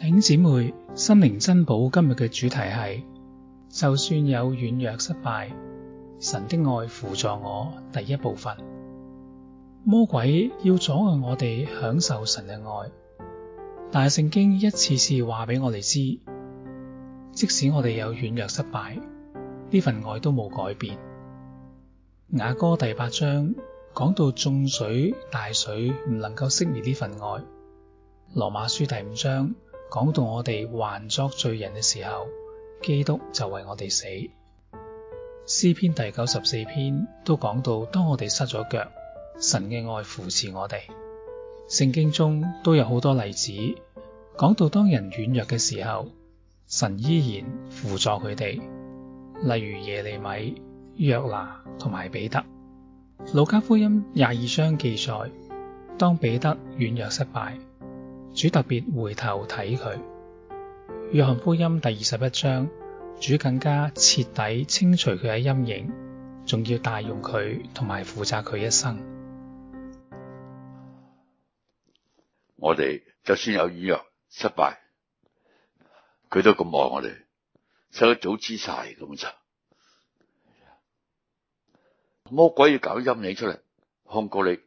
弟兄姊妹，心靈珍寶今日嘅主題係：就算有軟弱失敗，神的愛扶助我。第一部分，魔鬼要阻礙我哋享受神嘅愛，但係聖經一次次話俾我哋知，即使我哋有軟弱失敗，呢份愛都冇改變。雅歌第8章講到眾水大水唔能夠熄滅呢份愛。羅馬書第5章講到我哋還作罪人嘅時候，基督就為我哋死。詩篇第94篇都講到，當我哋失咗腳，神嘅愛扶持我哋。聖經中都有好多例子講到，當人軟弱嘅時候，神依然扶助佢哋，例如耶利米、約拿同埋彼得。路加福音22章記載，當彼得軟弱失敗，主特別回頭睇佢。約翰福音第21章，主更加徹底清除佢嘅陰影，仲要大用佢同埋負責佢一生。 我哋就算有軟弱失敗，佢都咁愛我哋，使佢早知晒咁就。魔鬼要搞陰影出嚟控告你，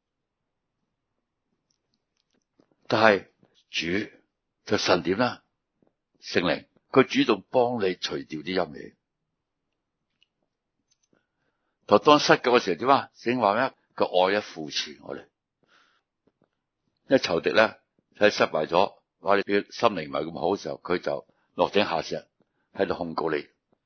但係主就神點啦？聖靈佢主動幫你除掉啲陰影。就當失救嘅時候點啊？聖經話咩？個愛扶持我哋。一仇敵咧喺失敗咗，話你嘅心靈唔係咁好嘅時候，佢就落井下石喺度控告你，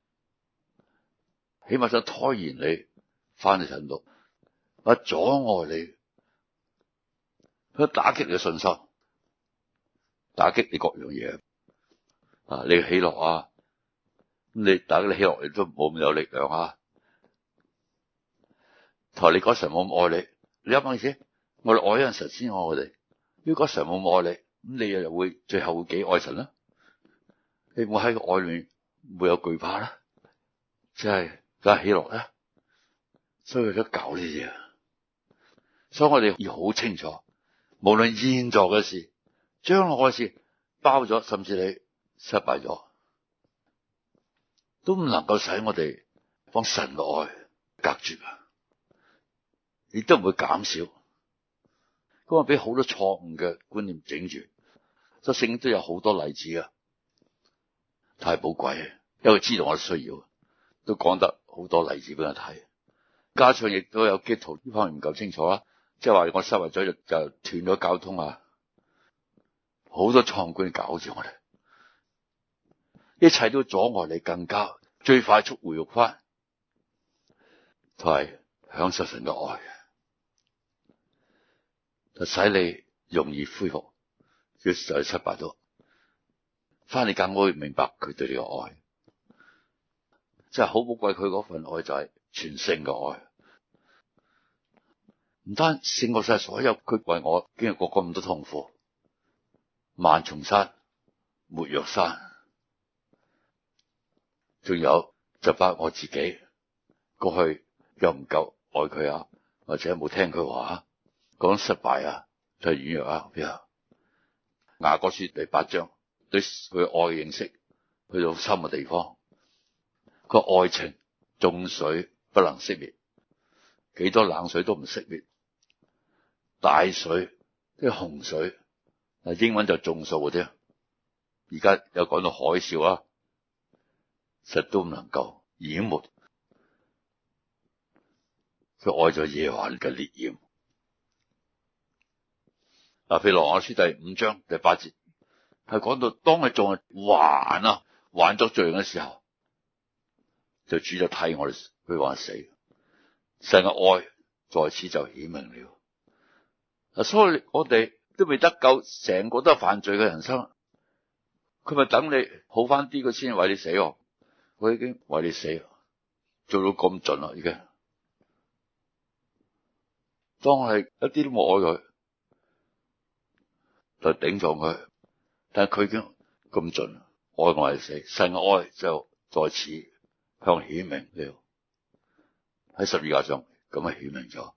起碼想拖延你翻去神度，或阻礙你，佢打擊你嘅信心，打擊你各樣嘢啊！你嘅喜樂啊，咁你打擊你喜樂，你都冇咁有力量啊！同埋你嗰神冇咁愛你，你諗下先，我哋愛一陣神先愛我哋。如果神冇咁愛你，咁你又會最後會幾愛神啦？你會喺個愛裏面會有懼怕啦，即係梗係喜樂啦。所以為咗搞呢啲嘢，所以我哋要好清楚，無論現在嘅事、將來嘅事，包咗，甚至你失敗咗，都唔能夠使我哋幫神嘅愛隔絕啊！亦都唔會減少。咁啊，俾好多錯誤嘅觀念整住，所以聖經都有好多例子啊，太寶貴，因為知道我需要，都講得好多例子俾我睇。加上亦都有基督徒呢方面唔夠清楚啦，即係話我失敗咗就斷咗交通啊，好多錯誤觀念搞住我哋，一切都阻礙你更加最快速回復翻，同埋享受神嘅愛，就使你容易恢復，就係失敗咗，翻嚟更會明白佢對你嘅愛，真係好寶貴。佢嗰份愛就係全勝嘅愛，唔單勝過晒所有，佢為我經歷過咁多痛苦，萬重山、沒藥山，仲有就包括我自己過去又唔夠愛佢啊，或者冇聽佢話，講失敗啊，就係軟弱啊。譬如雅歌書第8章對佢愛嘅認識去到深嘅地方，個愛情眾水不能熄滅，幾多冷水都唔熄滅，大水即係洪水，英文就眾數嗰啲，而家有講到海嘯啊，實都唔能夠淹沒佢愛咗耶和華嘅烈焰。嗱，譬如羅馬書第5章第8節，係講到當佢仲係還作罪人嘅時候，就主就替我哋佢話死，神嘅愛在此就顯明了。所以我哋都未得救，成個都係犯罪嘅人生，佢咪等你好翻啲，佢先為你死。我已經為你死，做到咁盡啦，已經當係一啲都冇愛佢，就頂撞佢，但係佢已經咁盡，愛我係死，神嘅愛就在此向顯明了，喺十字架上咁樣顯明咗。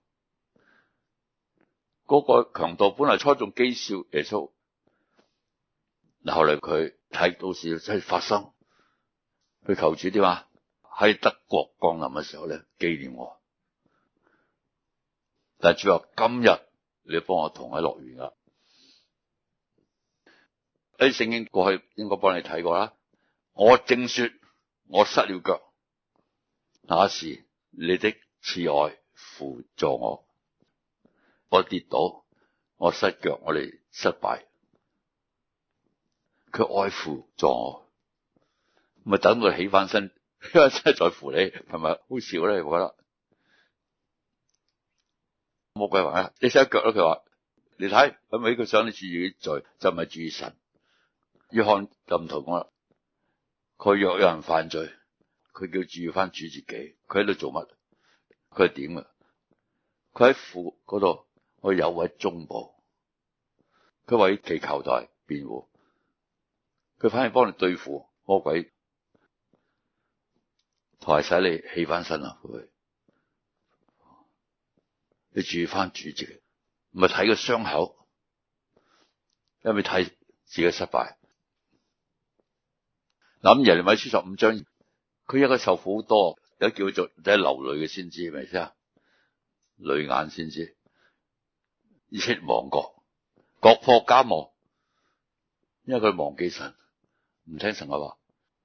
嗰個強盜本來初仲譏笑耶穌， 後來佢睇到事真係發生，佢求主點啊？喺德國降臨嘅時候咧，紀念我。但係主話今日你要幫我同喺樂園啦。喺聖經過去應該幫你睇過啦。我正說我失了腳，那時你的慈愛扶助我。我跌倒，我失腳，我哋失敗，佢愛扶助我，咪等佢起翻身，因為真係在乎你，係咪好笑咧？我覺得魔鬼話你失腳啦，佢話你睇，係咪佢想你注意罪，就唔係注意神。約翰就唔同我啦，佢若有人犯罪，佢叫注意翻主自己，佢喺度做乜？佢係點啊？佢喺父嗰度，我有位中保，佢為祈求代辯護，佢反而幫你對付魔鬼，同埋使你起翻身啊！佢你注意翻主自己，唔係睇個傷口，因為睇自己失敗。諗耶利米書15章，佢一個受苦好多，有叫做即係流淚嘅先知，係咪先啊？淚眼先知，以色列亡國，國破家亡，因為佢忘記神，唔聽神嘅話，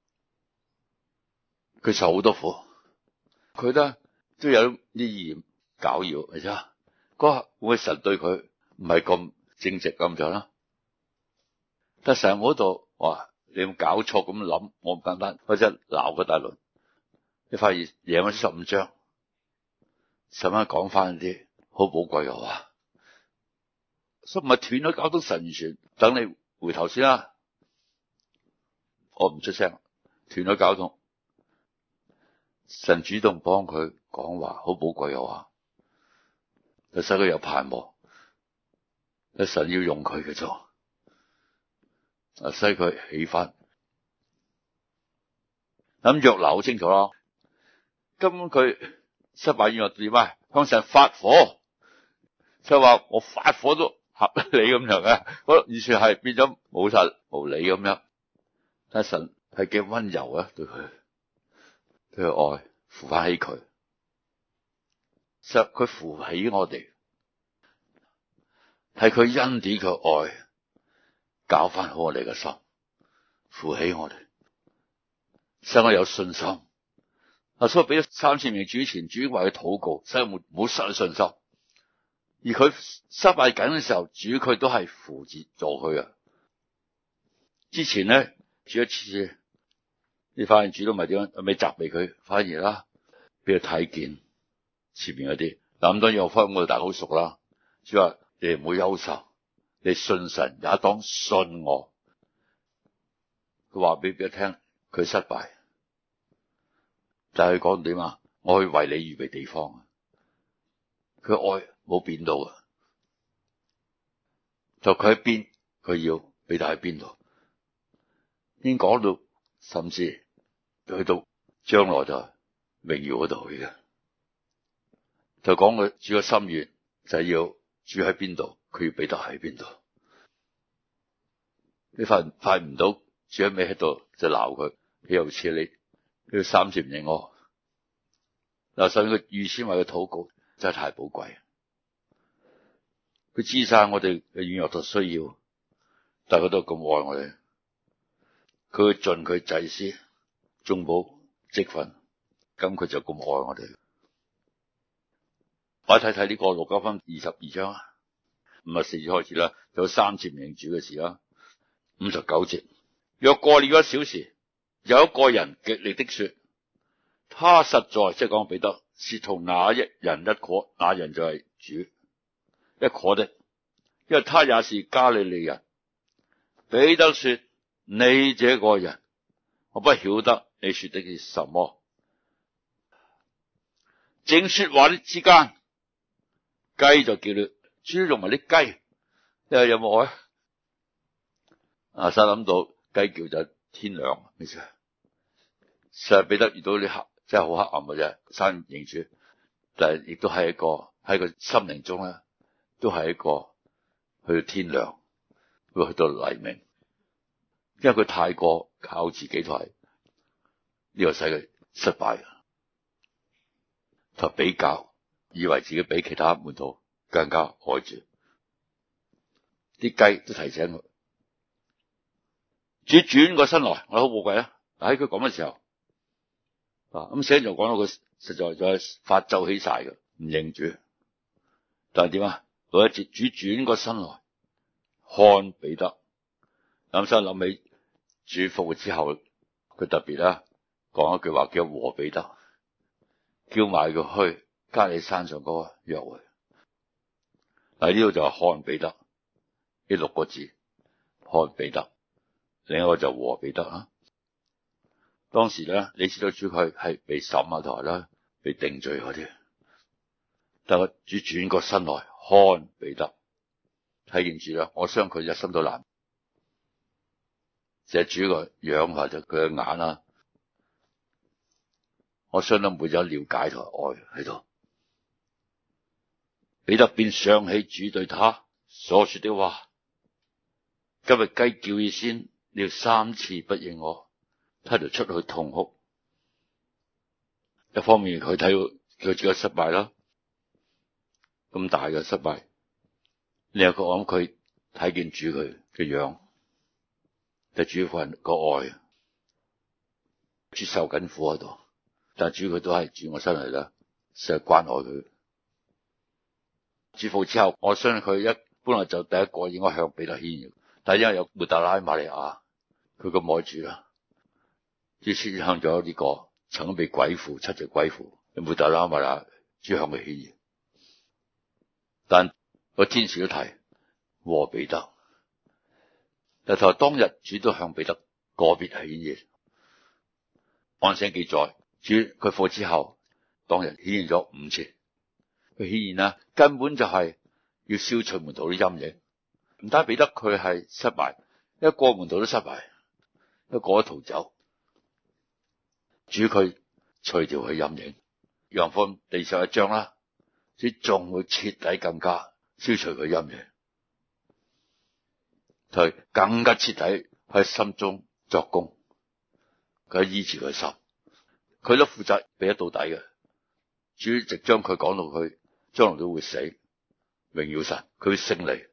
佢受好多苦，佢都有啲意念攪擾，係咪先啊？嗰下會唔會神對佢唔係咁正直咁樣啦？但神嗰度話。你有冇搞錯咁諗？我唔簡單，或者鬧個大輪。你發現耶利米15章，使乜講翻啲好寶貴嘅話？所以唔係斷咗交通神完全，等你回頭先啦。我唔出聲，斷咗交通，神主動幫佢講話，好寶貴嘅話，就使佢有盼望。神要用佢嘅啫。使佢起翻，咁約拿好清楚啦。根本佢失敗軟弱點啊？向神發火，就話我發火都合你咁樣嘅，嗰完全係變咗冇晒無理咁樣。但係神係幾溫柔啊，對佢愛扶翻起佢，其實佢扶起我哋，係佢恩典佢愛。搞翻好我哋嘅心，扶起我哋，使我有信心。所以俾咗3000名主前，主為佢禱告，使我唔好失去信心。而佢失敗緊嘅時候，主佢都係扶持助佢啊。之前咧，主一次，你發現主都唔係點樣，未責備佢，反而啦，俾佢睇見前面嗰啲。嗱咁當然我翻我哋大家好熟啦。主話你唔好憂愁。你信神也當信我。佢話俾佢聽，佢失敗，但係佢講點啊？我去為你預備地方。佢愛冇變到啊，就佢喺邊，佢要俾帶喺邊度。已經講到，甚至去到將來就榮耀嗰度去嘅。就講佢主嘅心願就係要住喺邊度。佢要俾得喺邊度？你發唔到，主喺尾喺度就鬧佢，佢又似你3次唔認我。嗱，所以佢預先為佢禱告，真係太寶貴。佢知晒我哋嘅軟弱同需要，但係佢都咁愛我哋。佢會盡佢祭司、中保職分，咁佢就咁愛我哋。我睇睇呢個路加福音22章啊。54節開始啦，有3次唔認主嘅事啦。59節，若過了1小時，有一個人極力的說，他實在即係講彼得是同那一人一伙，那人就係主一伙的，因為他也是加利利人。彼得說，你這個人，我不曉得你說的是什麼。正說話的之間，雞就叫了。豬同埋啲雞，你話有冇愛？先諗到雞叫就天亮，咩事？實係彼得遇到啲黑，真係好黑暗嘅啫。三唔認主，但係亦都係一個喺個心靈中咧，都係一個去到天亮，會去到黎明。 因為佢太過靠自己同埋呢個使佢失敗，同比較，以為自己比其他門徒更加愛主。啲雞都提醒佢，主轉過身來，我好寶貴啊！喺佢講嘅時候，咁寫就講到佢實在在發咒起晒嘅，唔認主。但係點啊？嗰一節主轉過身來看彼得，所以諗起主復活之後，佢特別啦講一句話叫和彼得，叫埋佢去加利山上嗰個約會。嗱，呢度就係看彼得呢6個字，看彼得，另一個就和彼得啦。當時咧，你知道主佢係被審啊，同埋咧被定罪嗰啲，但係主轉過身來看彼得，睇見主啦，我相信佢一心都難，就係主個樣或者佢嘅眼啦，我相信每有了解同愛喺度。彼得便想起主對他所說的話：今日雞叫以先，你要3次不認我。他就出去痛哭。一方面佢睇到佢自己失敗啦，咁大嘅失敗。另一個我諗佢睇見主佢嘅樣，就主個人個愛，主受緊苦喺度，但係主佢都係轉我身嚟啦，成日關愛佢。主復之後，我相信佢一本來就第一個應該向彼得顯現，但係因為有抹大拉瑪利亞，佢咁愛主啦。主先向咗呢個曾經被鬼附7隻鬼附，抹大拉瑪利亞，主向佢顯現。但個天使都提和彼得，但係當日主都向彼得個別顯現。按聖經記載，主佢復活之後，當日顯現咗5次。佢顯現啦，根本就係要消除門徒啲陰影。唔單彼得佢係失敗，一個門徒都失敗，一個都逃走。主佢除掉佢陰影，約翰福音第11章啦，主仲會徹底更加消除佢陰影，佢更加徹底喺心中作工，佢醫治佢心，佢都負責俾得到底嘅。主直將佢講到佢將來都會死，榮耀神，佢會勝利。